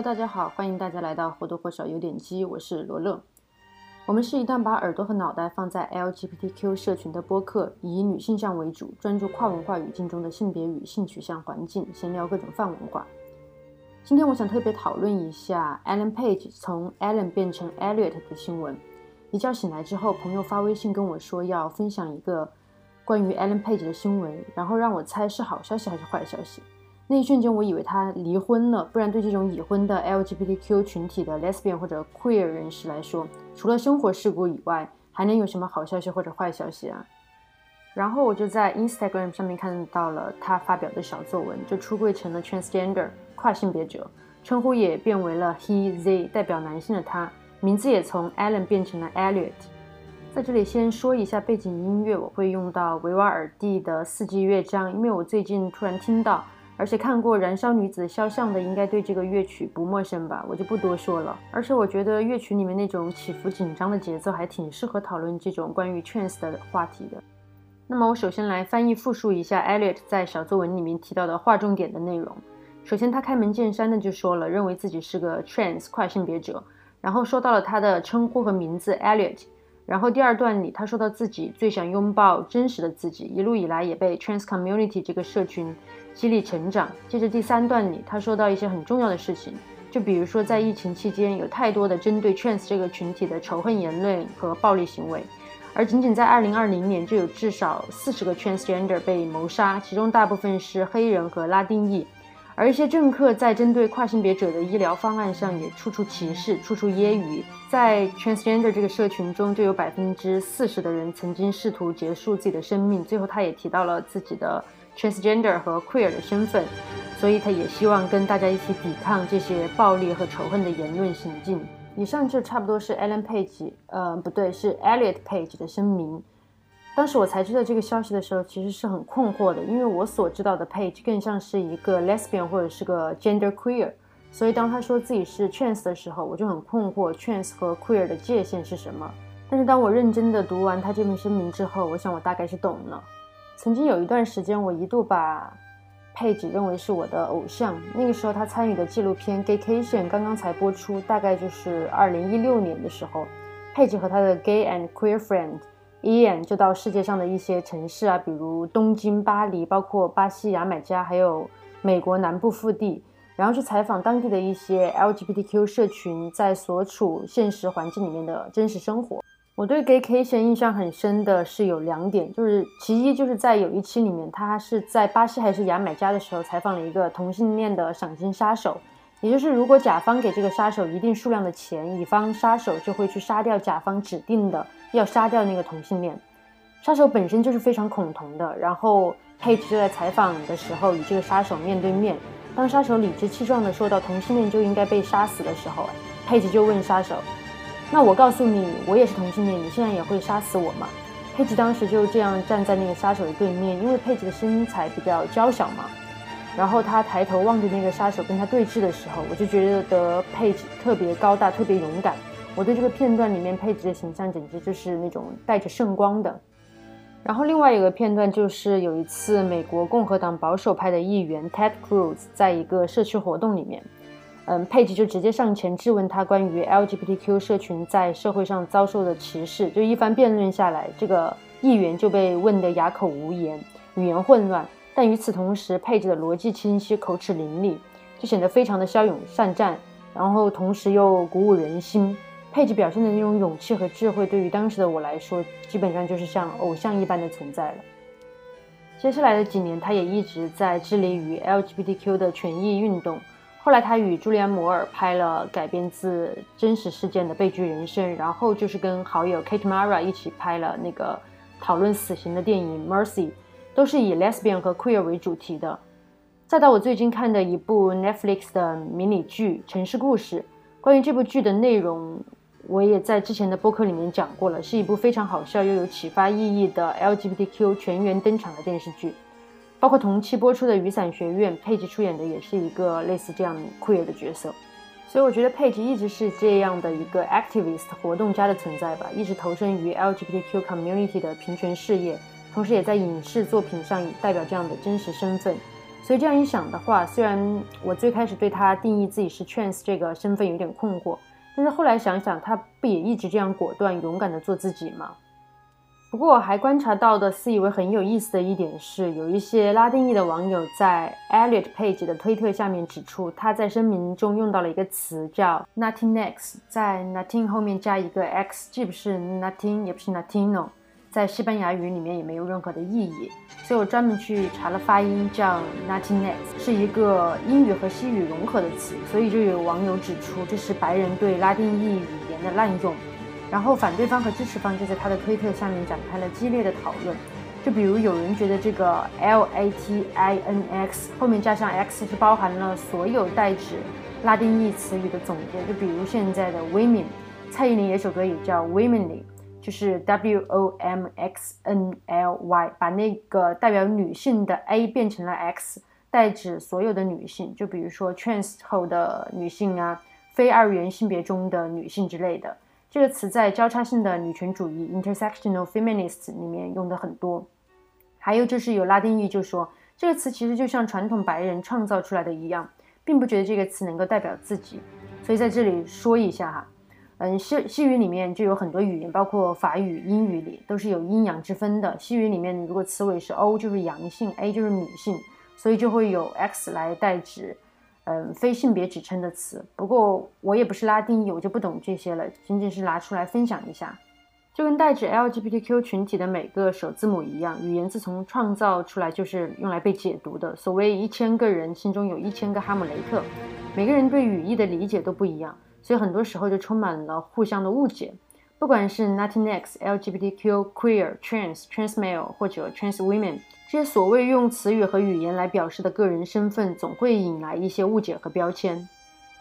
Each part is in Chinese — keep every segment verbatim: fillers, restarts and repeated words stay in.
大家好，欢迎大家来到或多或少有点鸡，我是罗乐。我们是一档把耳朵和脑袋放在 L G B T Q 社群的播客，以女性向为主，专注跨文化语境中的性别与性取向环境，闲聊各种泛文化。今天我想特别讨论一下 Ellen Page 从 Ellen 变成 Elliot 的新闻。一觉醒来之后，朋友发微信跟我说要分享一个关于 Ellen Page 的新闻，然后让我猜是好消息还是坏消息。那一瞬间我以为他离婚了，不然对这种已婚的 L G B T Q 群体的 lesbian 或者 queer 人士来说，除了生活事故以外，还能有什么好消息或者坏消息啊？然后我就在 Instagram 上面看到了他发表的小作文，就出柜成了 transgender 跨性别者，称呼也变为了 he they 代表男性的他，名字也从 Ellen 变成了 Elliot。 在这里先说一下背景音乐，我会用到维瓦尔第的四季乐章，因为我最近突然听到而且看过《燃烧女子肖像》的应该对这个乐曲不陌生吧，我就不多说了。而且我觉得乐曲里面那种起伏紧张的节奏还挺适合讨论这种关于 trans 的话题的。那么我首先来翻译复述一下 Elliot 在小作文里面提到的划重点的内容。首先他开门见山的就说了认为自己是个 trans 跨性别者，然后说到了他的称呼和名字 Elliot， 然后第二段里他说到自己最想拥抱真实的自己，一路以来也被 trans community 这个社群激励成长。接着第三段里他说到一些很重要的事情，就比如说在疫情期间有太多的针对 trans 这个群体的仇恨言论和暴力行为，而仅仅在二零二零年就有至少四十个 transgender 被谋杀，其中大部分是黑人和拉丁裔，而一些政客在针对跨性别者的医疗方案上也处处歧视，处处揶揄。在 transgender 这个社群中就有 百分之四十 的人曾经试图结束自己的生命。最后他也提到了自己的 transgender 和 queer 的身份，所以他也希望跟大家一起抵抗这些暴力和仇恨的言论行径。以上就差不多是 Ellen Page 呃，不对，是 Elliot Page 的声明。当时我才知道这个消息的时候其实是很困惑的，因为我所知道的 Page 更像是一个 lesbian 或者是个 gender queer， 所以当他说自己是 trans 的时候，我就很困惑 trans 和 queer 的界限是什么。但是当我认真的读完他这篇声明之后，我想我大概是懂了。曾经有一段时间我一度把 Page 认为是我的偶像，那个时候他参与的纪录片 Gaycation 刚刚才播出，大概就是二零一六年的时候， Page 和他的 gay and queer friend Ian 就到世界上的一些城市啊，比如东京、巴黎，包括巴西牙买加，还有美国南部腹地，然后去采访当地的一些 L G B T Q 社群在所处现实环境里面的真实生活。我对 Gaycation 印象很深的是有两点，就是其一就是在有一期里面，他是在巴西还是牙买加的时候采访了一个同性恋的赏金杀手，也就是如果甲方给这个杀手一定数量的钱，乙方杀手就会去杀掉甲方指定的要杀掉那个同性恋。杀手本身就是非常恐同的，然后 Page 就在采访的时候与这个杀手面对面，当杀手理直气壮地说到同性恋就应该被杀死的时候， Page 就问杀手，那我告诉你我也是同性恋，你现在也会杀死我吗？ Page 当时就这样站在那个杀手的对面，因为 Page 的身材比较娇小嘛，然后他抬头望着那个杀手跟他对峙的时候，我就觉得 Page 特别高大特别勇敢。我对这个片段里面Page的形象简直就是那种带着圣光的。然后另外有个片段就是有一次美国共和党保守派的议员 Ted Cruz 在一个社区活动里面，嗯 Page 就直接上前质问他关于 L G B T Q 社群在社会上遭受的歧视，就一番辩论下来，这个议员就被问得哑口无言，语言混乱，但与此同时 Page 的逻辑清晰，口齿伶俐，就显得非常的骁勇善战，然后同时又鼓舞人心。Page 表现的那种勇气和智慧对于当时的我来说基本上就是像偶像一般的存在了。接下来的几年他也一直在致力于 L G B T Q 的权益运动，后来他与朱利安·摩尔拍了改编自真实事件的悲剧人生，然后就是跟好友 Kate Mara 一起拍了那个讨论死刑的电影 Mercy， 都是以 lesbian 和 queer 为主题的。再到我最近看的一部 Netflix 的迷你剧城市故事，关于这部剧的内容我也在之前的播客里面讲过了，是一部非常好笑又有启发意义的 L G B T Q 全员登场的电视剧。包括同期播出的雨伞学院，Page出演的也是一个类似这样 queer 的角色。所以我觉得 Page 一直是这样的一个 activist 活动家的存在吧，一直投身于 L G B T Q community 的平权事业，同时也在影视作品上代表这样的真实身份。 所以这样一想的话，虽然我最开始对他定义自己是 trans 这个身份有点困惑，但是后来想想，他不也一直这样果断勇敢的做自己吗？不过我还观察到的自以为很有意思的一点是，有一些拉丁裔的网友在 Elliot Page 的推特下面指出，他在声明中用到了一个词叫 Latinx， 在 Latin 后面加一个 X， 既不是 Latin 也不是 Latino， 在西班牙语里面也没有任何的意义，所以我专门去查了发音，叫 Latinx， 是一个英语和西语融合的词，所以就有网友指出这是白人对拉丁裔语言的滥用。然后反对方和支持方就在他的推特下面展开了激烈的讨论，就比如有人觉得这个 L A T I N X 后面加上 X 是包含了所有代指拉丁裔词语的总结，就比如现在的 women， 蔡依林有首歌也叫 womanly， 就是 W O M X N L Y， 把那个代表女性的 A 变成了 X， 代指所有的女性，就比如说 trans 后的女性啊，非二元性别中的女性之类的。这个词在交叉性的女权主义 intersectional feminists 里面用的很多。还有就是有拉丁裔就说这个词其实就像传统白人创造出来的一样，并不觉得这个词能够代表自己。所以在这里说一下哈，嗯，西西语里面就有很多语言，包括法语、英语里都是有阴阳之分的。西语里面如果词尾是 O 就是阳性， A 就是女性，所以就会有 X 来代指嗯，非性别指称的词。不过我也不是拉丁裔，我就不懂这些了，仅仅是拿出来分享一下。就跟代指 L G B T Q 群体的每个首字母一样，语言自从创造出来就是用来被解读的。所谓一千个人心中有一千个哈姆雷特，每个人对语义的理解都不一样，所以很多时候就充满了互相的误解。不管是 Latinx、L G B T Q、Queer、Trans、Trans Male 或者 Trans Women，这些所谓用词语和语言来表示的个人身份，总会引来一些误解和标签。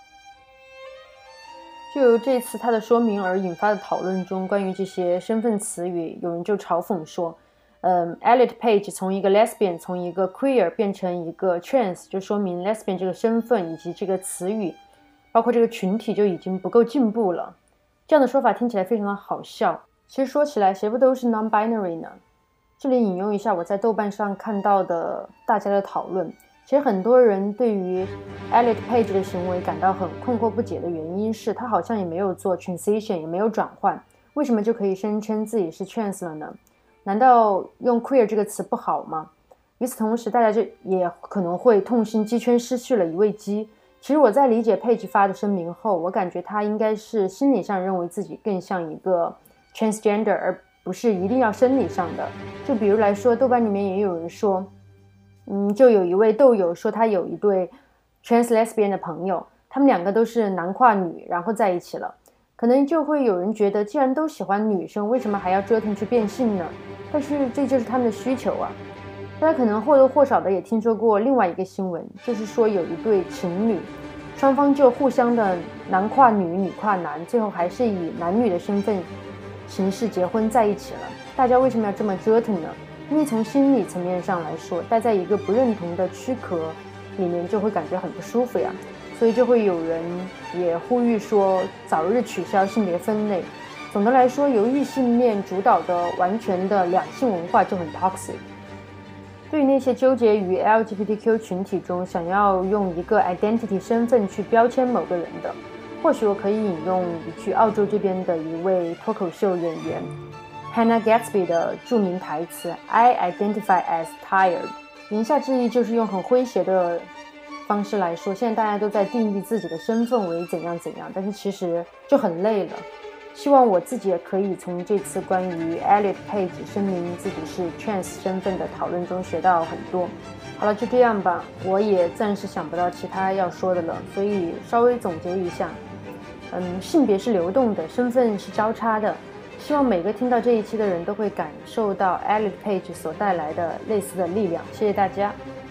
就由这次他的说明而引发的讨论中，关于这些身份词语，有人就嘲讽说，嗯 Elliot Page 从一个 lesbian 从一个 queer 变成一个 trans， 就说明 lesbian 这个身份以及这个词语，包括这个群体就已经不够进步了。这样的说法听起来非常的好笑，其实说起来谁不都是 non-binary 呢？这里引用一下我在豆瓣上看到的大家的讨论，其实很多人对于 Elliot Page 的行为感到很困惑不解的原因是，他好像也没有做 transition， 也没有转换，为什么就可以声称自己是 trans 了呢？难道用 queer 这个词不好吗？与此同时，大家就也可能会痛心鸡圈失去了一位鸡。其实我在理解 Page 发的声明后，我感觉他应该是心理上认为自己更像一个 transgender， 而不是一定要生理上的。就比如来说，豆瓣里面也有人说，嗯，就有一位豆友说他有一对 trans lesbian 的朋友，他们两个都是男跨女，然后在一起了。可能就会有人觉得，既然都喜欢女生，为什么还要折腾去变性呢？但是这就是他们的需求啊。大家可能或多或少的也听说过另外一个新闻，就是说有一对情侣，双方就互相的男跨女、女跨男，最后还是以男女的身份形式结婚在一起了。大家为什么要这么折腾呢？因为从心理层面上来说，待在一个不认同的躯壳里面就会感觉很不舒服呀，所以就会有人也呼吁说早日取消性别分类。总的来说，由异性恋主导的完全的两性文化就很 toxic。对于那些纠结于 L G B T Q 群体中想要用一个 identity 身份去标签某个人的，或许我可以引用一句澳洲这边的一位脱口秀演员 Hannah Gatsby 的著名台词 I identify as tired， 言下之意就是用很诙谐的方式来说，现在大家都在定义自己的身份为怎样怎样，但是其实就很累了。希望我自己也可以从这次关于 Elliot Page 声明自己是 trans 身份的讨论中学到很多。好了，就这样吧，我也暂时想不到其他要说的了，所以稍微总结一下，嗯，性别是流动的，身份是交叉的。希望每个听到这一期的人都会感受到 Elliot Page 所带来的类似的力量。谢谢大家。